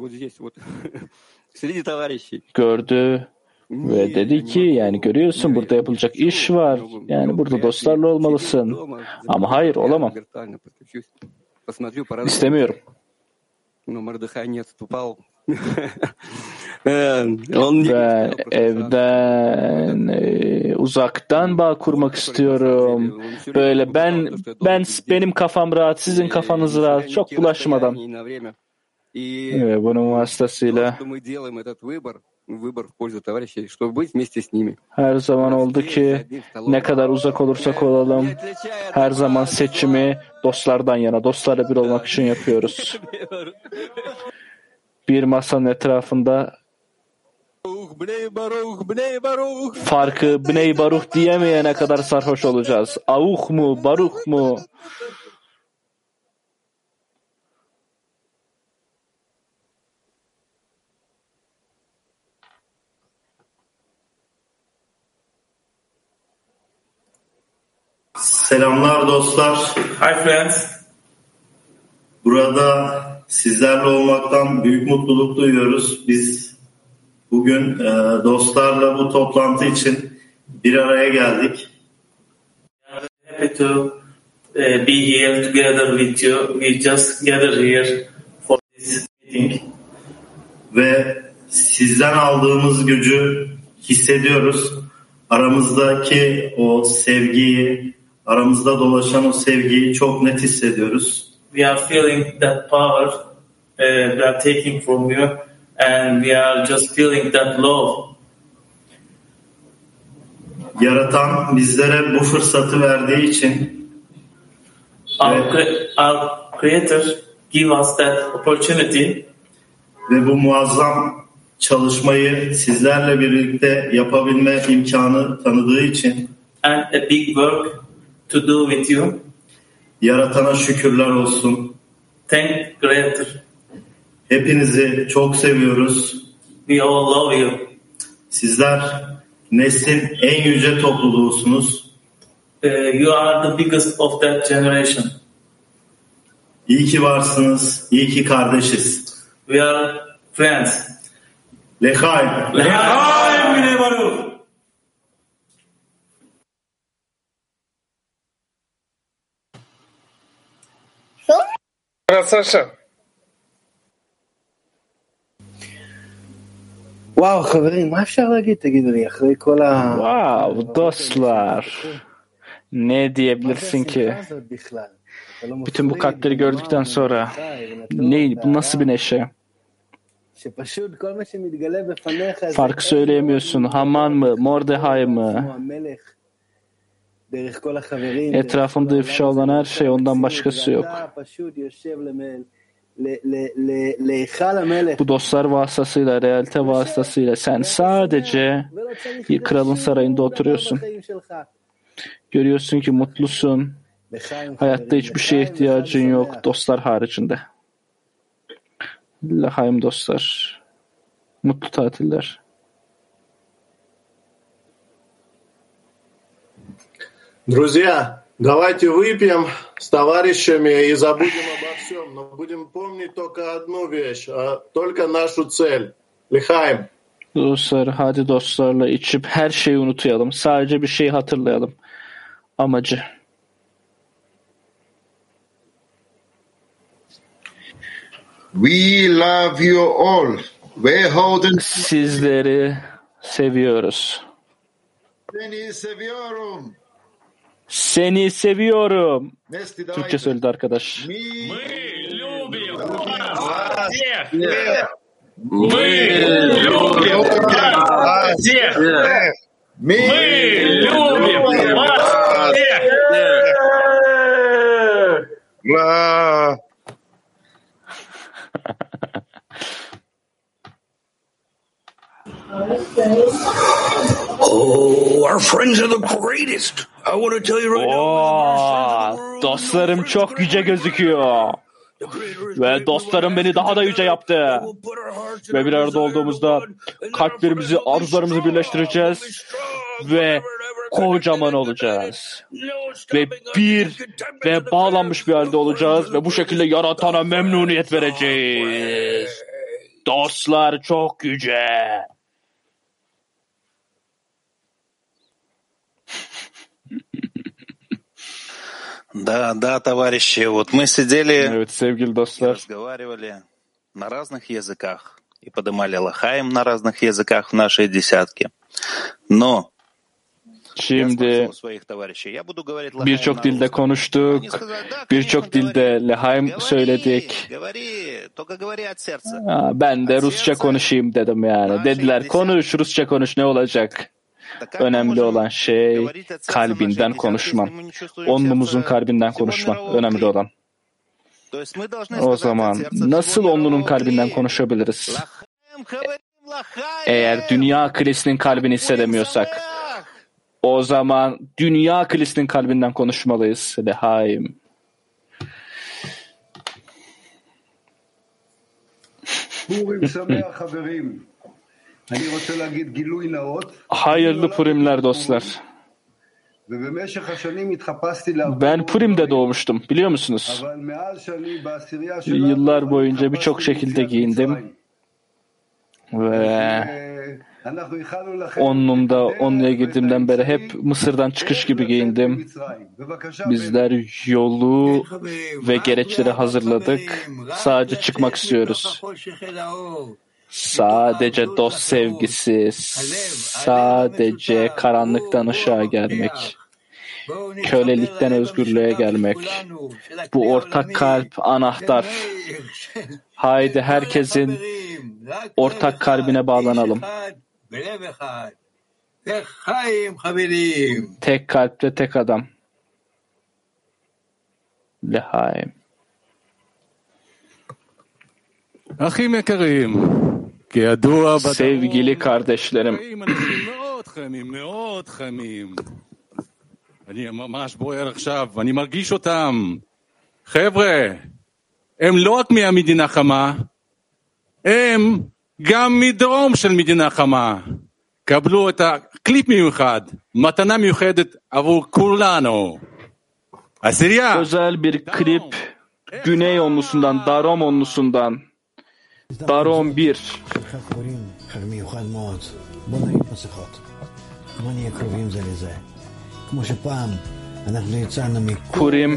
Gördü ve dedi ki yani görüyorsun burada yapılacak iş var. Yani burada dostlarla olmalısın. Ama hayır olamam. İstemiyorum. Ben evden e, uzaktan bağ kurmak istiyorum. Böyle ben ben benim kafam rahat, sizin kafanız rahat, çok bulaşmadan. Ve bunun vasıtasıyla her zaman oldu ki ne kadar uzak olursak olalım, her zaman seçimi dostlardan yana, dostlarla bir olmak için yapıyoruz. Bir masanın etrafında farkı Bnei Baruch diyemeyene kadar sarhoş olacağız. Avuch mu, Baruch mu? Selamlar dostlar. Hi friends. Burada sizlerle olmaktan büyük mutluluk duyuyoruz. Biz bugün e, dostlarla bu toplantı için bir araya geldik. Happy to uh, be here together with you. We just gather here for this meeting. Ve sizden aldığımız gücü hissediyoruz. Aramızdaki o sevgiyi, aramızda dolaşan o sevgiyi çok net hissediyoruz. We are feeling that power uh, we are taking from you, and we are just feeling that love. Yaratan bizlere bu fırsatı verdiği için Our, our Creator give us that opportunity. Ve bu muazzam çalışmayı sizlerle birlikte yapabilme imkanı tanıdığı için and a big work to do with you. Yaratana şükürler olsun. Thank Creator. Hepinizi çok seviyoruz. We all love you. Sizler neslin en yüce topluluğusunuz. Uh, you are the biggest of that generation. İyi ki varsınız. İyi ki kardeşiz. We are friends. L'chaim. L'chaim Bnei Baruch. Sasha. וואו, חברים, מה אפשר להגיד? תגידו לי, אחרי כל ה... Wow, dostlar. Ne diyebilirsin ki? Bütün bu kalpleri gördükten sonra ne, bu nasıl bir neşe? Farkı söyleyemiyorsun. Haman mı, Mordecai mı? Etrafımda ifşa olan her şey, ondan başkası yok. Bu dostlar vasıtasıyla, realite vasıtasıyla sen sadece bir kralın sarayında oturuyorsun. Görüyorsun ki mutlusun. Hayatta hiçbir şeye ihtiyacın yok dostlar haricinde. L'chaim dostlar. Mutlu tatiller. Друзья, давайте выпьем с товарищами и забудем обо всем, но будем помнить только одну вещь, а только нашу цель. L'chaim. Dostlar, hadi dostlarla içip her şeyi unutuyalım. Sadece bir şeyi hatırlayalım. Amacı. We love you all. Sizleri seviyoruz. Seni seviyorum. Seni seviyorum. Türkçe söyledi arkadaş. Мы любим вас всех. Мы любим вас всех. Oh, our friends are the greatest. I want to tell you right now. Dostlarım çok yüce gözüküyor. Ve dostlarım beni daha da yüce yaptı. Ve bir arada olduğumuzda kalplerimizi, arzularımızı birleştireceğiz. Ve kocaman olacağız. Ve bir ve bağlanmış bir halde olacağız. Ve bu şekilde yaratana memnuniyet vereceğiz. Dostlar çok yüce. Да, да, товарищи, вот мы сидели evet, sevgili dostlar. И разговаривали на разных языках и поднимали лахаим на разных языках в нашей десятке. Но Şimdi birçok dilde konuştuk, birçok dilde L'chaim söyledik. Ben de Rusça konuşayım dedim yani. Dediler konuş, Rusça konuş, ne olacak? Önemli olan şey kalbinden konuşman. Onlumuzun kalbinden konuşman. Önemli olan. O zaman nasıl onlunun kalbinden konuşabiliriz? Eğer dünya kilisinin kalbini hissedemiyorsak, o zaman dünya kilisinin kalbinden konuşmalıyız. L'chaim. Hayırlı Purimler dostlar. Ben Purim'de doğmuştum, biliyor musunuz? Yıllar boyunca birçok şekilde giyindim. Ve onlumda, onluya girdiğimden beri hep Mısır'dan çıkış gibi giyindim. Bizler yolu ve gereçleri hazırladık. Sadece çıkmak istiyoruz. Sadece dost sevgisi, sadece karanlıktan ışığa gelmek, kölelikten özgürlüğe gelmek. Bu ortak kalp anahtar. Haydi herkesin ortak kalbine bağlanalım. Tek kalpte tek adam. Lehaim. Sevgili kardeşlerim, אני ממש בוער עכשיו, אני מרגיש אותם. חבר'ה, הם לא רק מהמדינה חמה, הם גם מדרום של מדינה חמה. קבלו את הקליפ מיוחד, מתנה מיוחדת עבור כולנו. Asirya. Özel bir klip Güney onlusundan, Darom onlusundan. Darom bir. Purim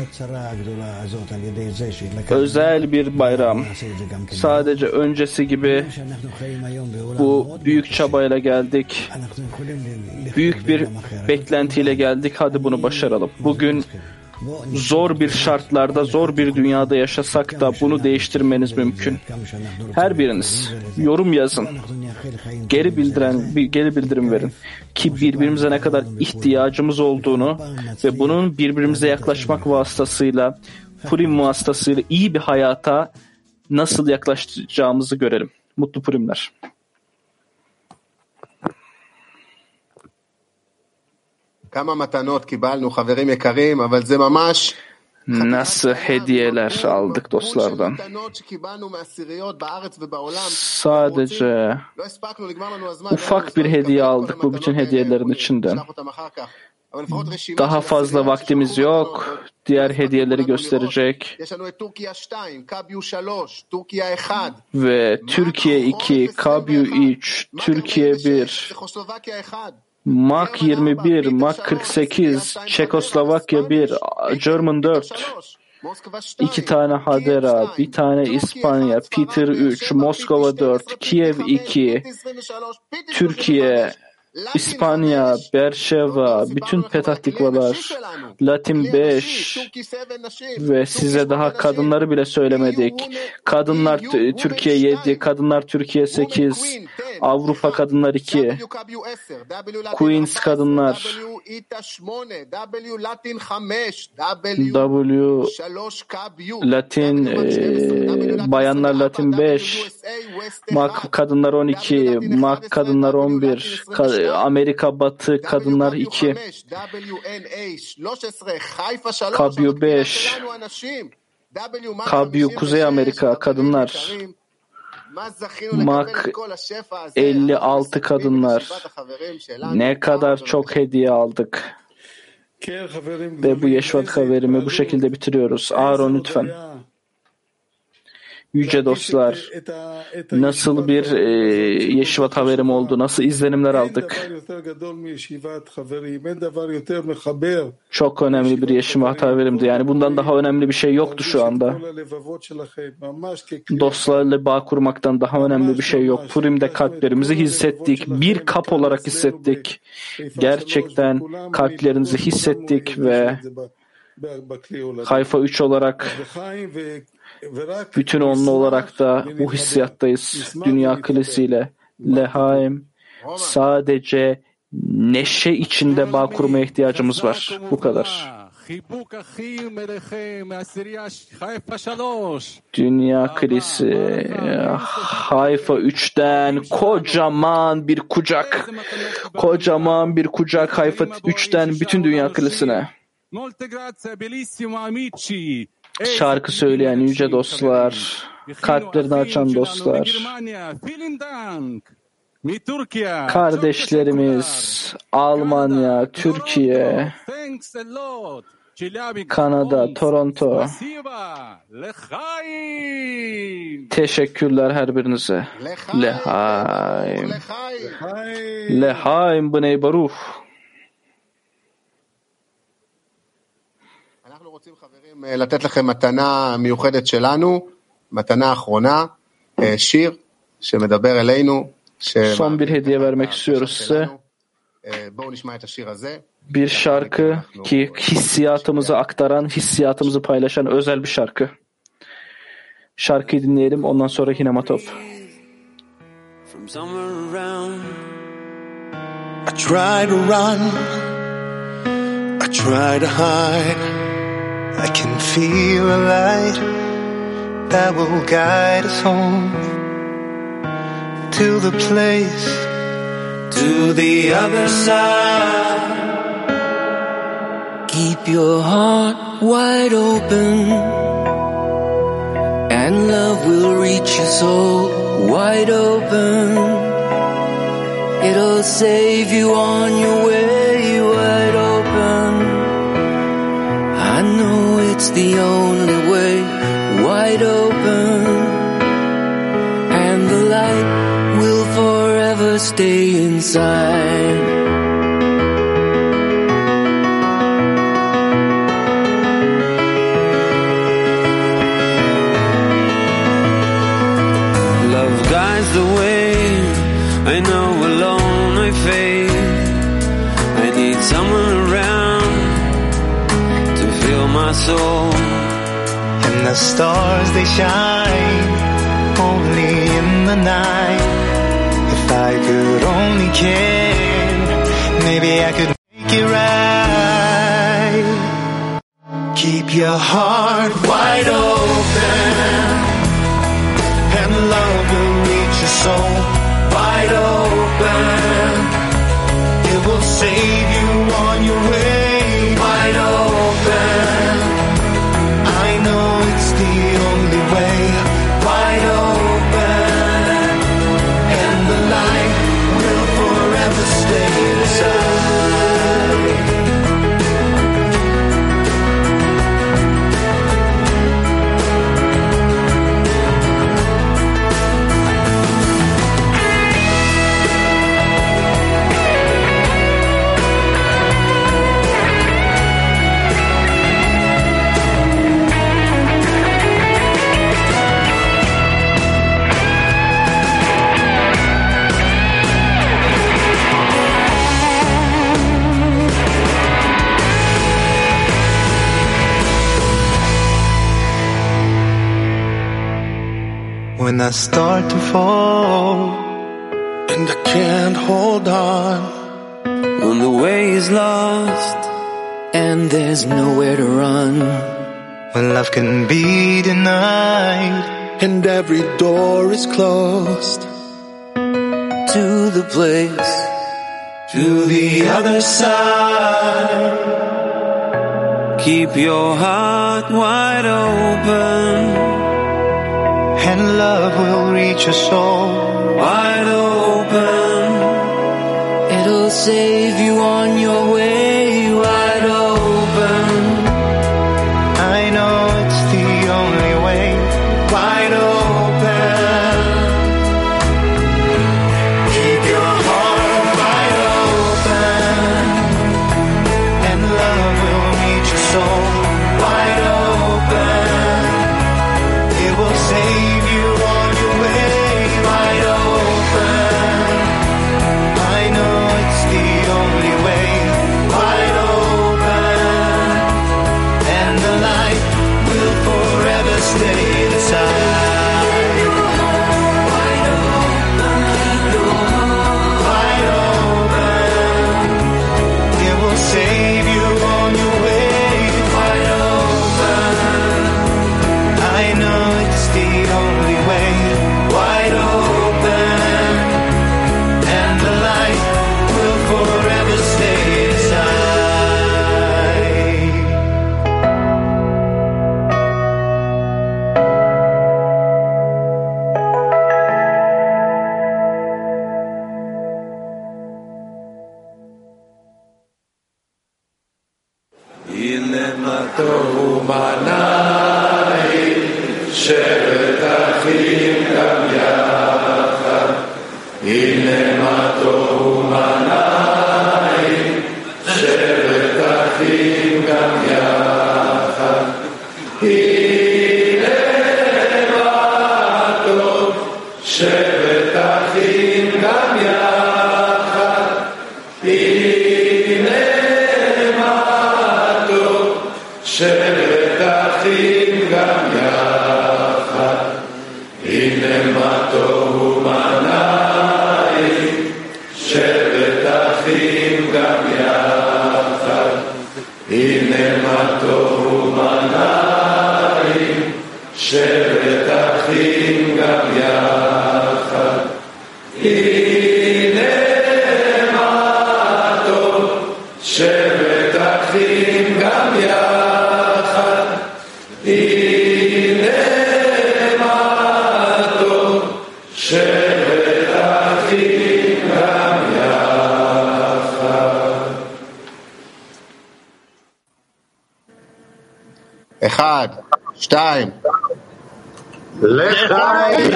özel bir bayram. Sadece öncesi gibi bu büyük çabayla geldik. Büyük bir beklentiyle geldik. Hadi bunu başaralım. Bugün zor bir şartlarda, zor bir dünyada yaşasak da bunu değiştirmeniz mümkün. Her biriniz yorum yazın. Geri bildiren, geri bildirim verin. Ki birbirimize ne kadar ihtiyacımız olduğunu ve bunun birbirimize yaklaşmak vasıtasıyla, Purim vasıtasıyla iyi bir hayata nasıl yaklaşacağımızı görelim. Mutlu Purimler. Nasıl hediyeler aldık dostlardan. Sadece ufak bir hediye aldık bu bütün hediyelerin içinden. Daha fazla vaktimiz yok. Diğer hediyeleri gösterecek. Ve Türkiye iki, Kabyu üç, Türkiye bir, Mak yirmi bir, Mak kırk sekiz, Çekoslovakya bir, German dört, iki tane Hadera, bir tane İspanya, Peter üç, Moskova dört, Kiev iki, Türkiye, İspanya, Berşeva, bütün Petah Tikvalar, Latin beş ve size daha kadınları bile söylemedik. Kadınlar Türkiye yedi, kadınlar Türkiye sekiz, Avrupa kadınlar iki, Queens kadınlar, W Latin, e, bayanlar Latin beş, Mak kadınlar on iki, Mak kadınlar on bir, Amerika Batı kadınlar iki, Kabyu beş, Kabyu Kuzey Amerika kadınlar, Mak elli altı kadınlar. Ne kadar çok hediye aldık. Ve bu Yeşvat haberimi bu şekilde bitiriyoruz. Aaron lütfen. Yüce dostlar, nasıl bir e, Yeşvat haberim oldu, nasıl izlenimler aldık. Çok önemli bir Yeşvat haberimdi. Yani bundan daha önemli bir şey yoktu şu anda. Dostlarla bağ kurmaktan daha önemli bir şey yok. Purim'de kalplerimizi hissettik. Bir kap olarak hissettik. Gerçekten kalplerinizi hissettik ve Hayfa üç olarak bütün onlu olarak da bu hissiyattayız. Dünya kilisiyle. Lehaim, sadece neşe içinde bağ kurmaya ihtiyacımız var. Bu kadar. Dünya kilisi Hayfa üçten kocaman bir kucak. Kocaman bir kucak Hayfa üçten bütün dünya kilisine. Şarkı söyleyen yüce dostlar, kalplerini açan dostlar, kardeşlerimiz, Almanya, Türkiye, Kanada, Toronto, teşekkürler her birinize. Lehaim, Lehaim b'nei Baruch. לתת לכם מתנה מיוחדת שלנו, מתנה אחרונה, שיר שמדבר אלינו. Son bir hediye vermek istiyoruz size. Bir şarkı ki hissiyatımızı aktaran, hissiyatımızı paylaşan özel bir şarkı. Şarkıyı dinleyelim, ondan sonra Hinematop. From somewhere around, I try to run, I try to hide. I can feel a light that will guide us home to the place, to the other side. Keep your heart wide open, and love will reach your soul wide open. It'll save you on your way wide open. I know it's the only way wide open, and the light will forever stay inside. The way I know alone I fade. I need someone around to fill my soul. And the stars they shine only in the night. If I could only care, maybe I could make it right. Keep your heart wide open, and love will reach your soul wide open. It will save you on your way wide open. I know it's the only way wide open, and the light will forever stay inside. When I start to fall and I can't hold on, when the way is lost and there's nowhere to run, when love can be denied and every door is closed, to the place, to the other side. Keep your heart wide open, and love will reach your soul wide open. It'll save you on your way wide open. I know it's the only way wide open. Keep your heart wide open, and love will reach your soul wide open. It will save you on your way wide open. I know it's the only way wide open, and the light will forever stay inside. Wide open, wide open. It will save you on your way wide open. I know it's the only way wide open, and the light will forever stay inside. Illematohu manai shevet achim gam yachad. Illematohu manai shevet achim gam yachad. Illematohu shevet achim gam yachad. אחים גם יחד, הנה מה טוב ומנעים, שבת אחים גם יחד, הנה מה טוב ומנעים, שבת אחים גם יחד, הנה מה טוב, שבת אחים גם יחד, הנה מה טוב, שבת אחים גם יחד. אחד, שתיים. לחיים!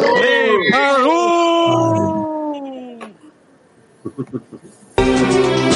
ברור!